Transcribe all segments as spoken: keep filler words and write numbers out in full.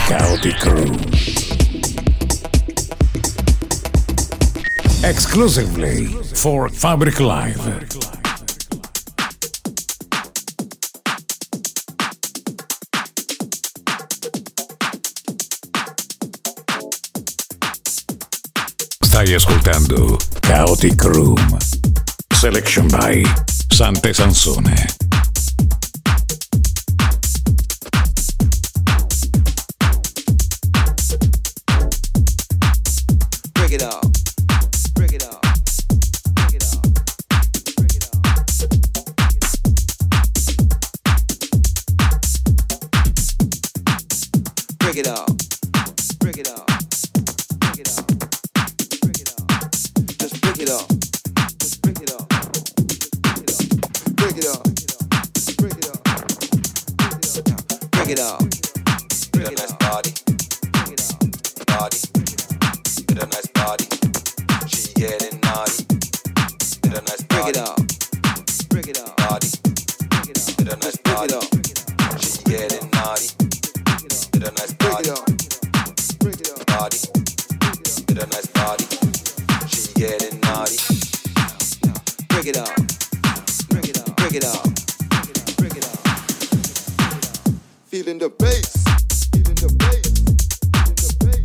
Chaotic Room. Exclusively for Fabric Live. Stai ascoltando Chaotic Room. Selection by Sante Sansone. Break it up. Break it up. Break it up. Break it up. Break it up. Break it up. Break it up. Break it up. Just break it up. Just break it up. Break it up. Break it up. Break it up. Get a nice body. Body. Get a nice body. She getting naughty. Get a nice body. Break it up. Break it up. Body. Get a nice body. She getting naughty. Get a nice body. Break it up. Body. Get a nice body. She getting naughty. Break it up. Break it up. Break it up. Break it up. Feeling the bass. Feeling the bass. Feeling the bass.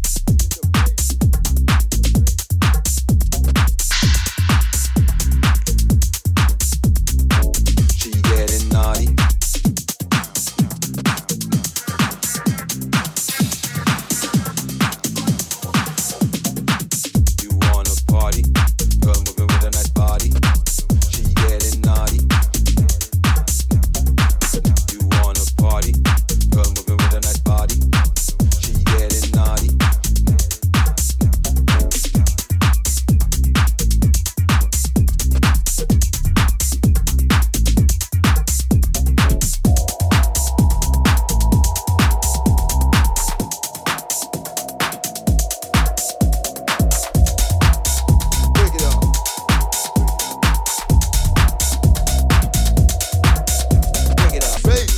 She getting naughty. You wanna party? Girl moving with a nice body. She getting naughty. You wanna party? Girl moving with a nice body. She getting naughty. Break it up. Break it up. Bass.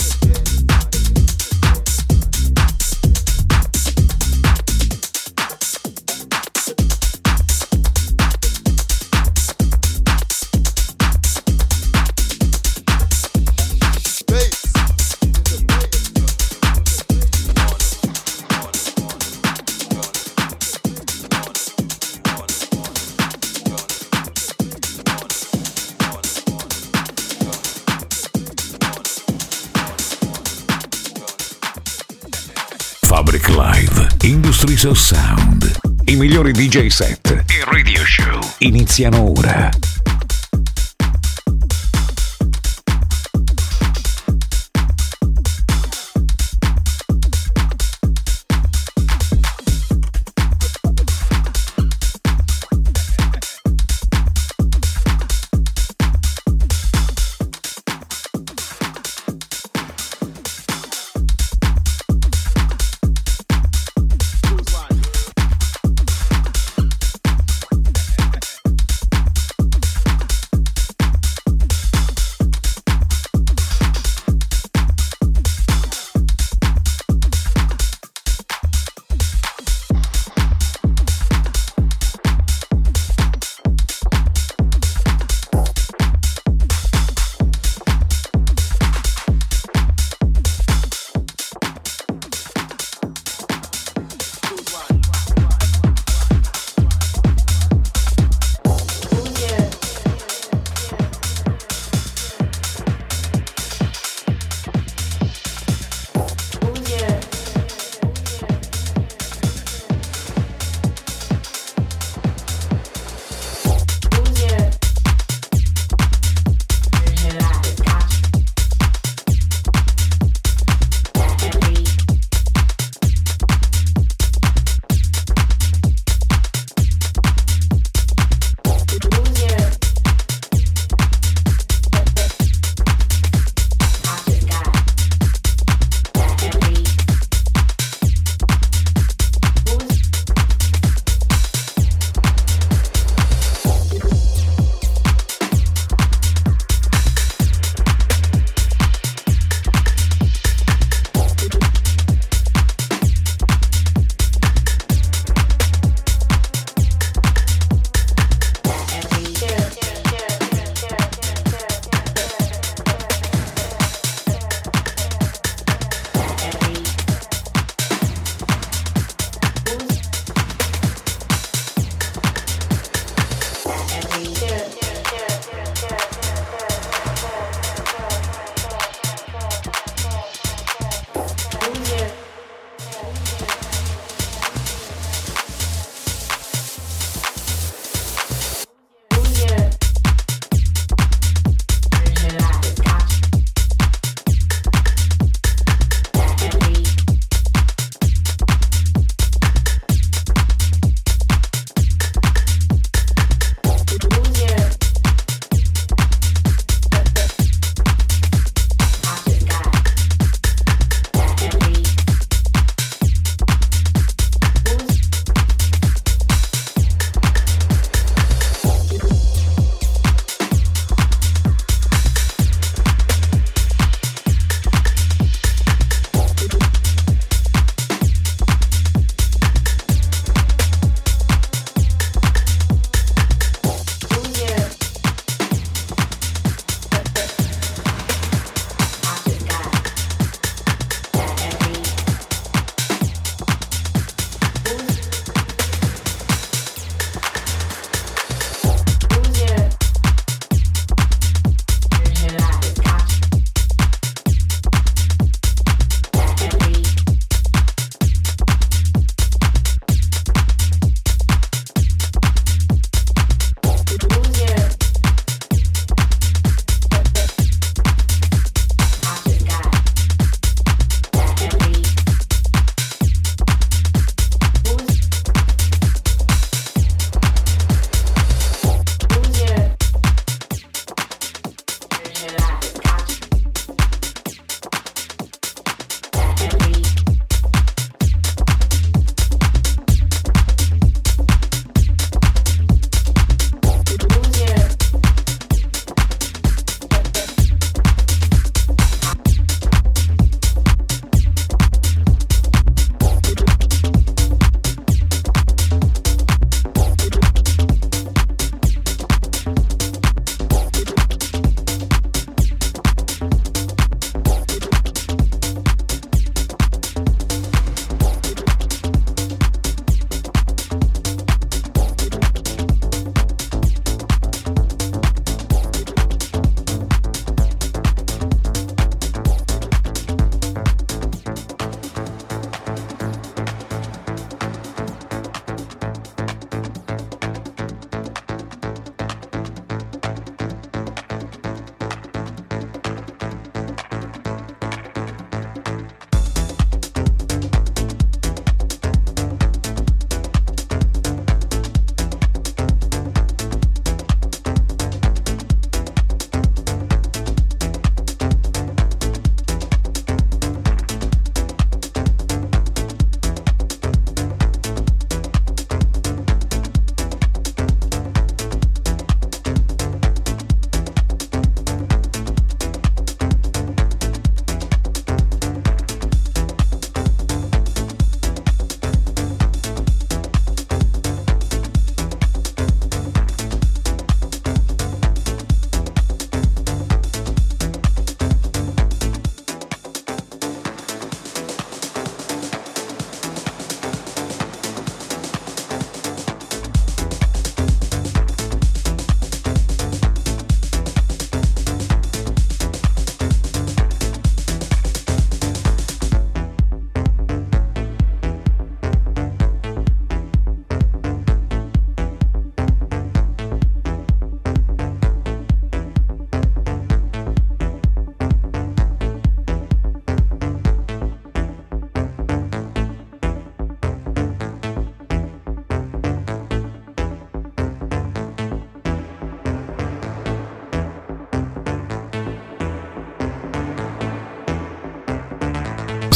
Fabric Live, Industries of Sound. I migliori D J set e radio show iniziano ora.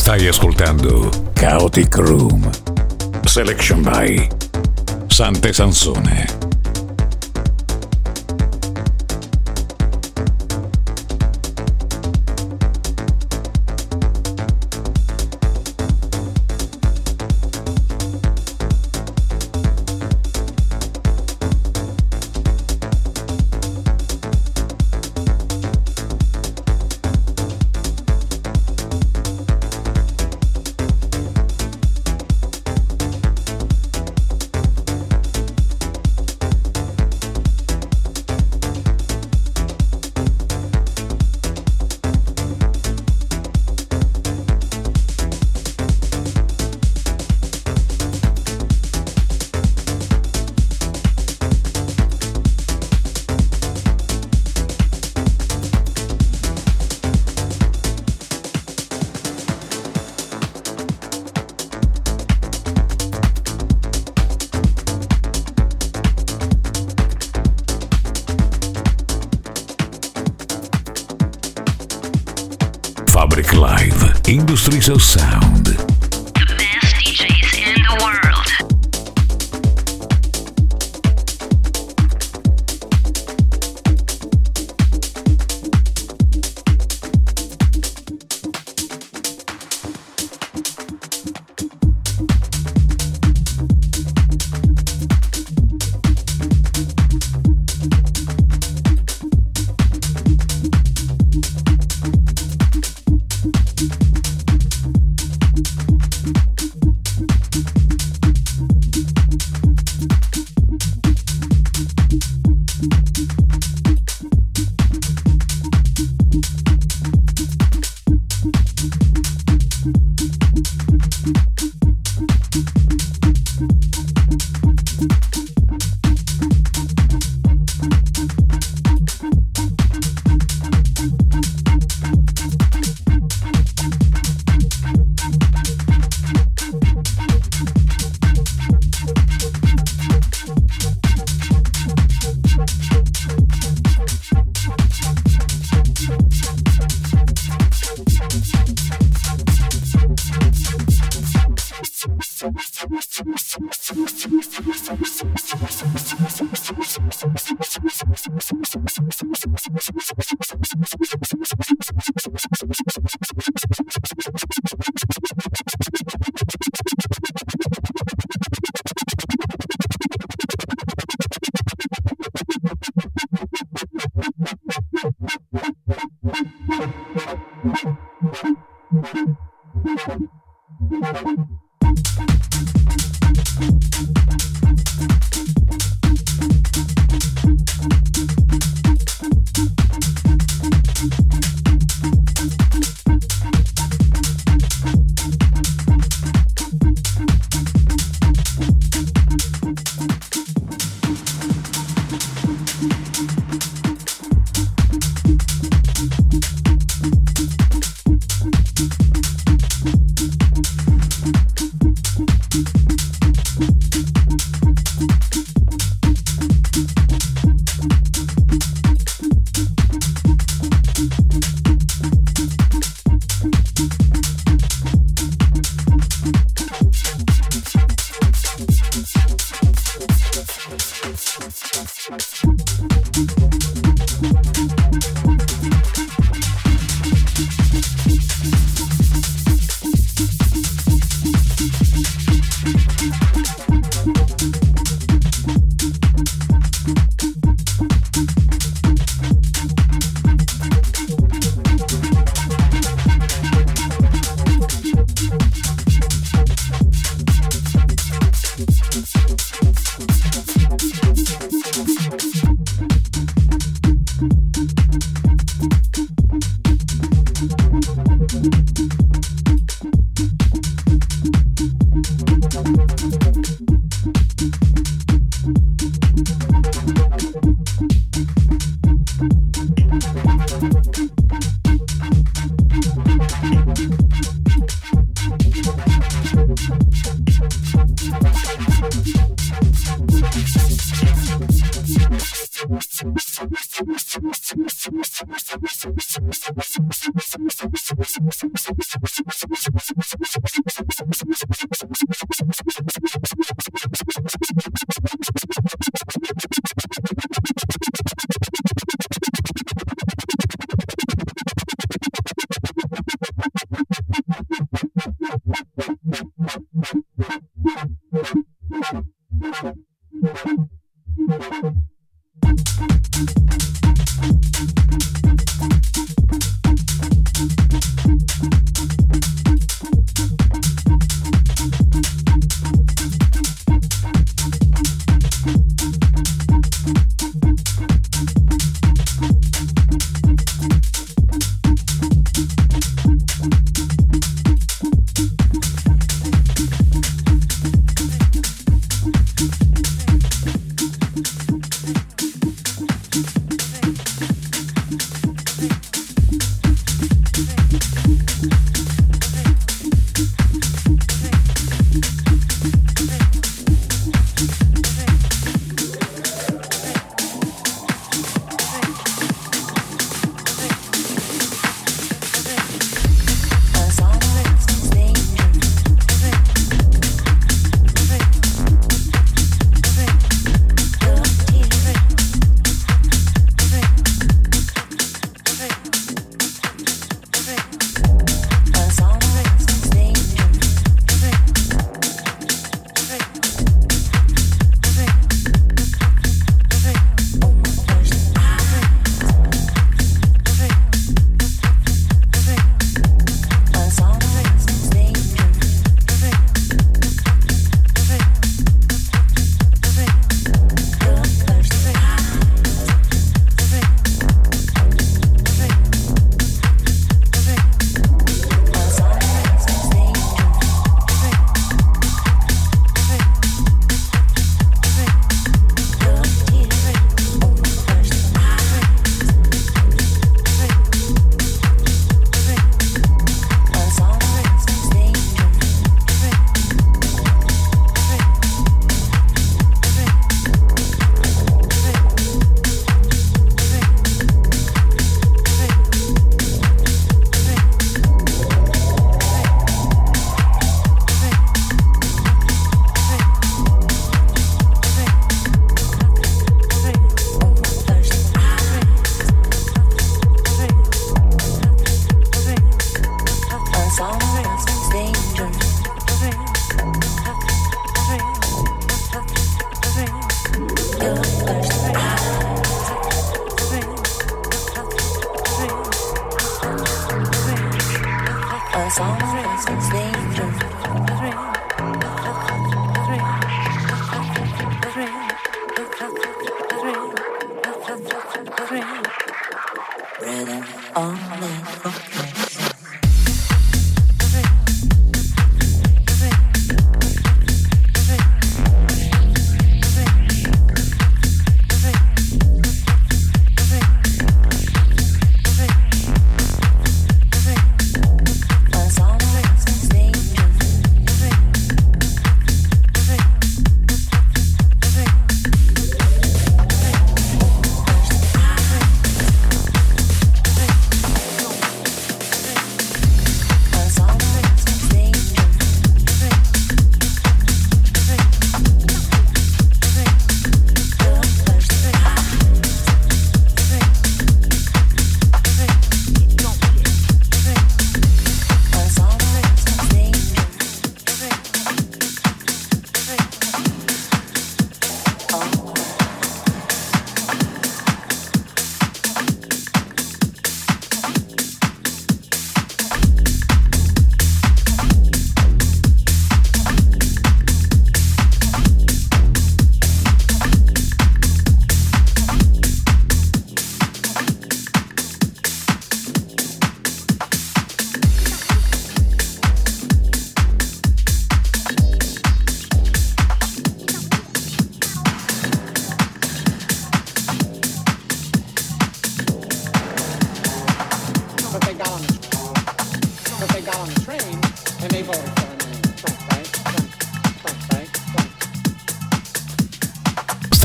Stai ascoltando Chaotic Room. Selection by Sante Sansone. Fabric Live, Industries of Sound. The best D Js in the world.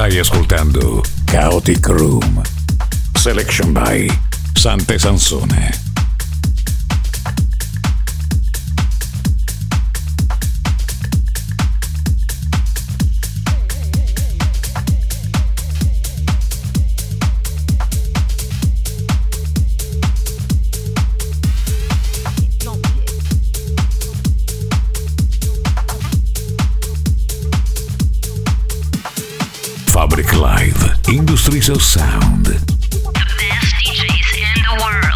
Stai ascoltando Chaotic Room. Selection by Sante Sansone. Fabric Live, Industries of Sound. The best D Js in the world.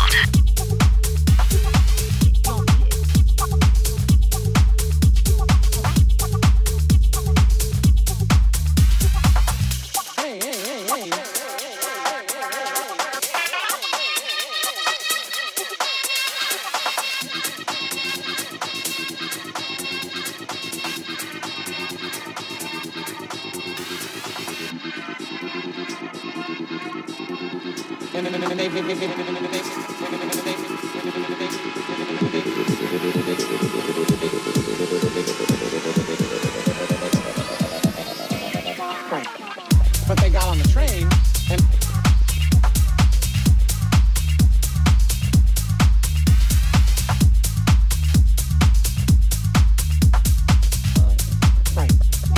But they got on the train and right.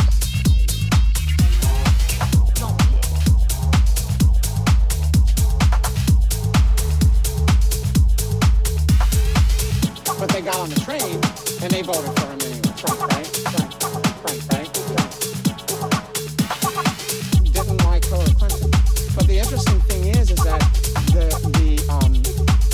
But they got on the train and they voted for him anyway. Right, right, right, right, right, right. Didn't like Hillary Clinton. But the interesting thing is, is that the the um.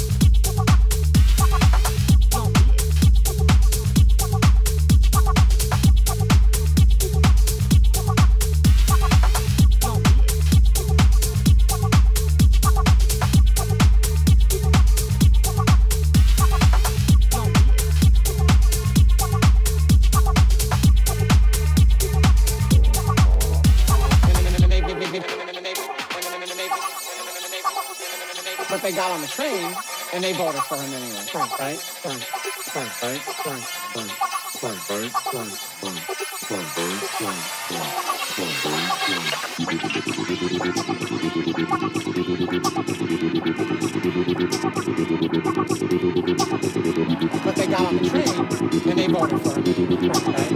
But they got on the train and they voted for him anyway. Right, right, right, right, right, right, right, right, right, But they got on the train and they voted for him anyway. Right, right,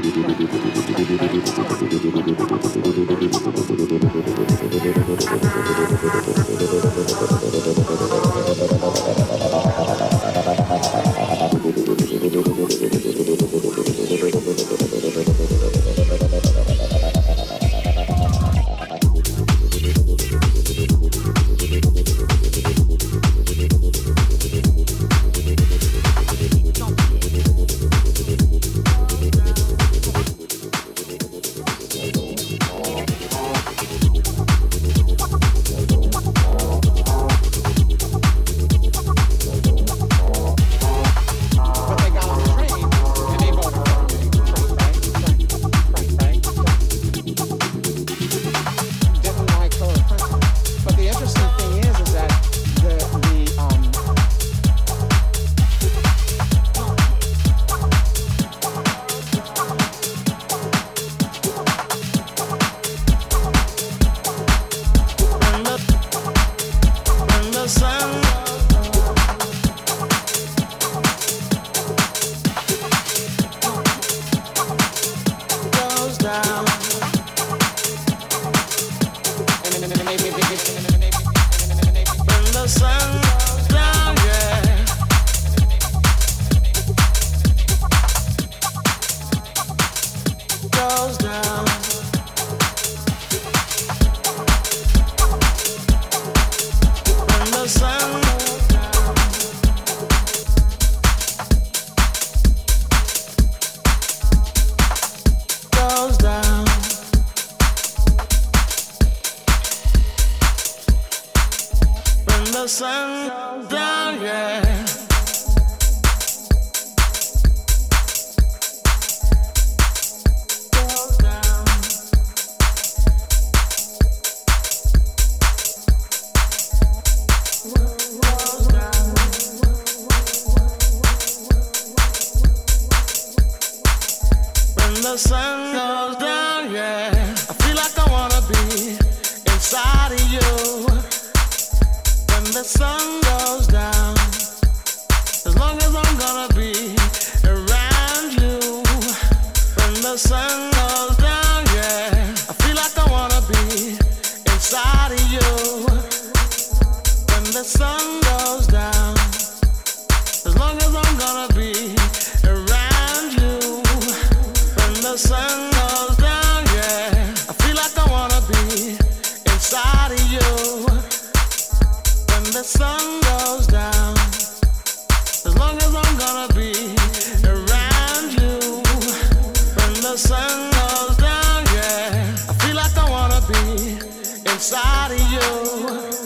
the sun goes down, yeah. I feel like I wanna be the sun goes down. As long as I'm gonna be around you. When the sun goes down, yeah, I feel like I wanna be inside of you. When the sun goes down, as long as I'm gonna be around you. When the sun goes down, yeah, I feel like I wanna be inside of you. When the sun goes down, as long as I'm gonna be around you. When the sun goes down, yeah, I feel like I wanna be inside of you.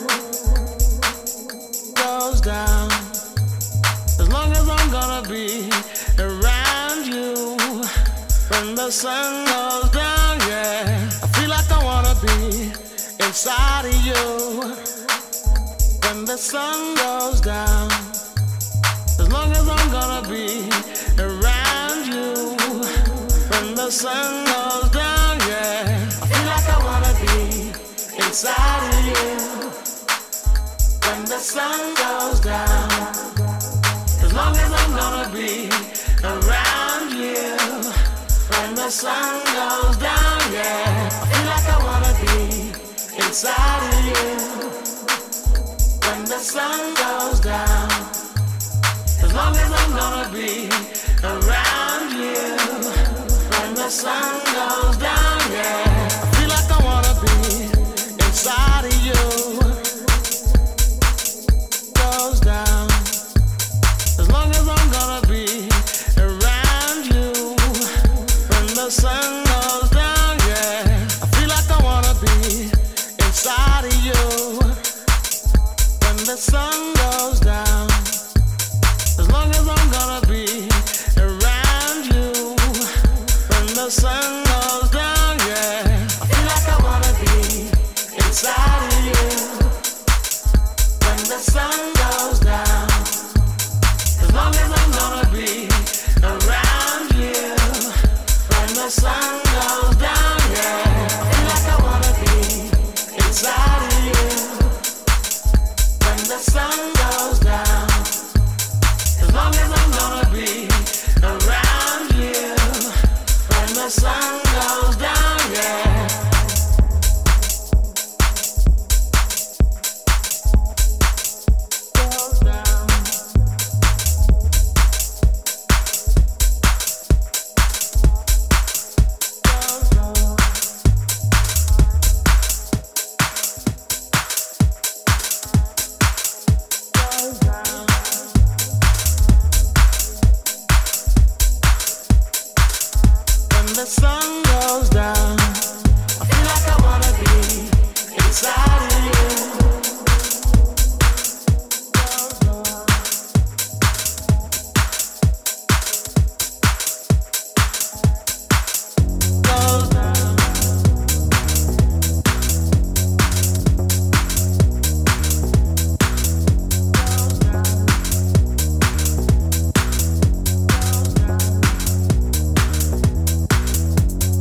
Goes down, as long as I'm gonna be around you. When the sun goes down, yeah, I feel like I wanna be inside of you. When the sun goes down, as long as I'm gonna be around you. When the sun goes down, yeah, I feel like I wanna be inside of you. When the sun goes down, as long as I'm gonna be around you. When the sun goes down, yeah, I feel like I wanna be inside of you. When the sun goes down, as long as I'm gonna be around you. When the sun goes down, yeah, I feel like I wanna be inside of you. Goes down, as long as I'm gonna be around you. When the sun goes down, yeah, I feel like I wanna be inside of you. When the sun goes down, as long as I'm gonna be around you. When the sun goes down, yeah, I feel like I wanna be inside of you. When the sun goes down, as long as I'm gonna be around you. When the sun goes down, yeah, I feel like I wanna be inside of you. When the sun goes down, as long as I'm gonna be around you. When the sun goes down, yeah. Goes down. Goes down. Goes down. When the sun goes down, I feel like I wanna be inside of you. Goes down. Goes down. Goes down.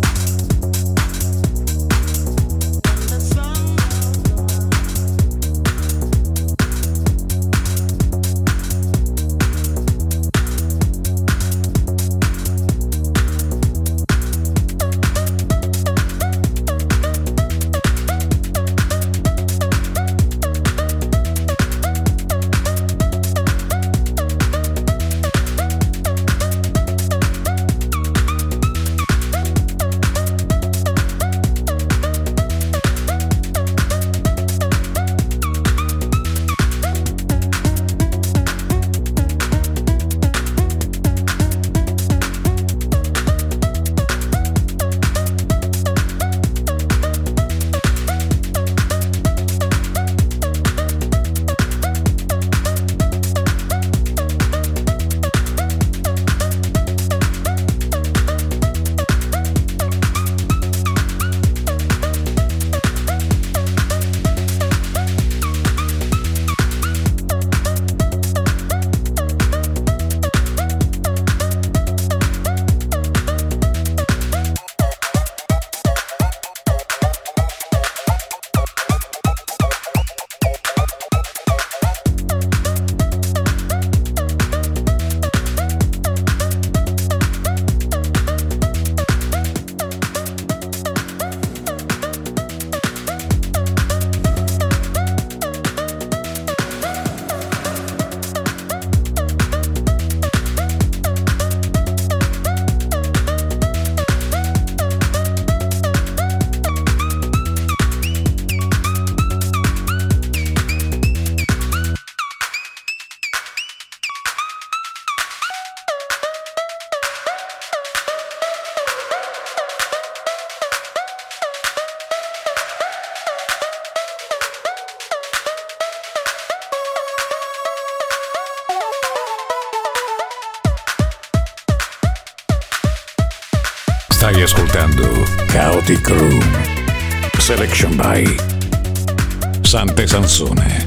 Stai ascoltando Chaotic Room. Selection by Sante Sansone.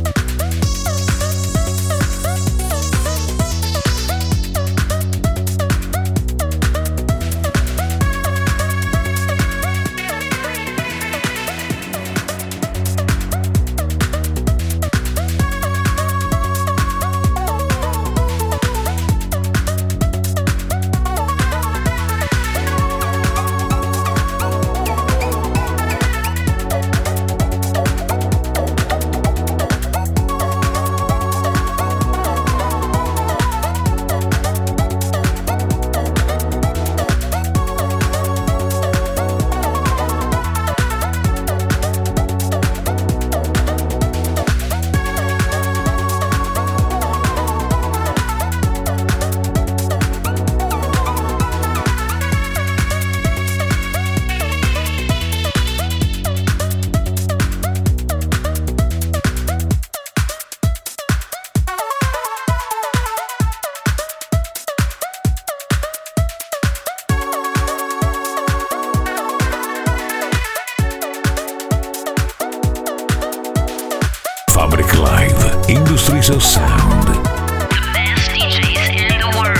Fabric Live, Industries of Sound. The best D Js in the world.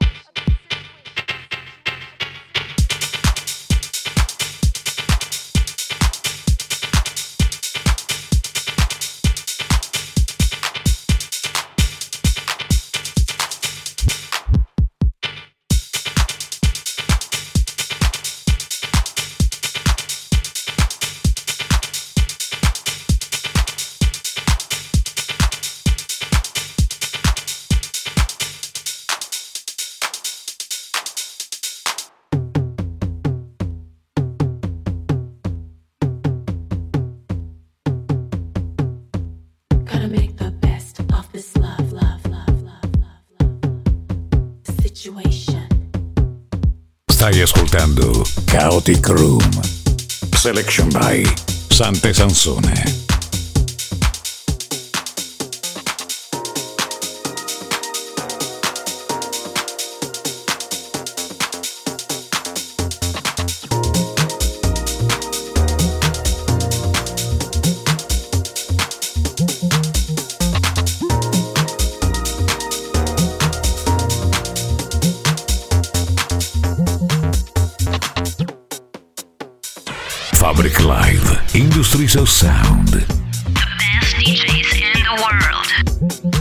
Stai ascoltando Chaotic Room, Selection by Sante Sansone. Fabric Live, Industries of Sound. The best D Js in the world.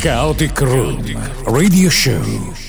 Chaotic Room Radio Show.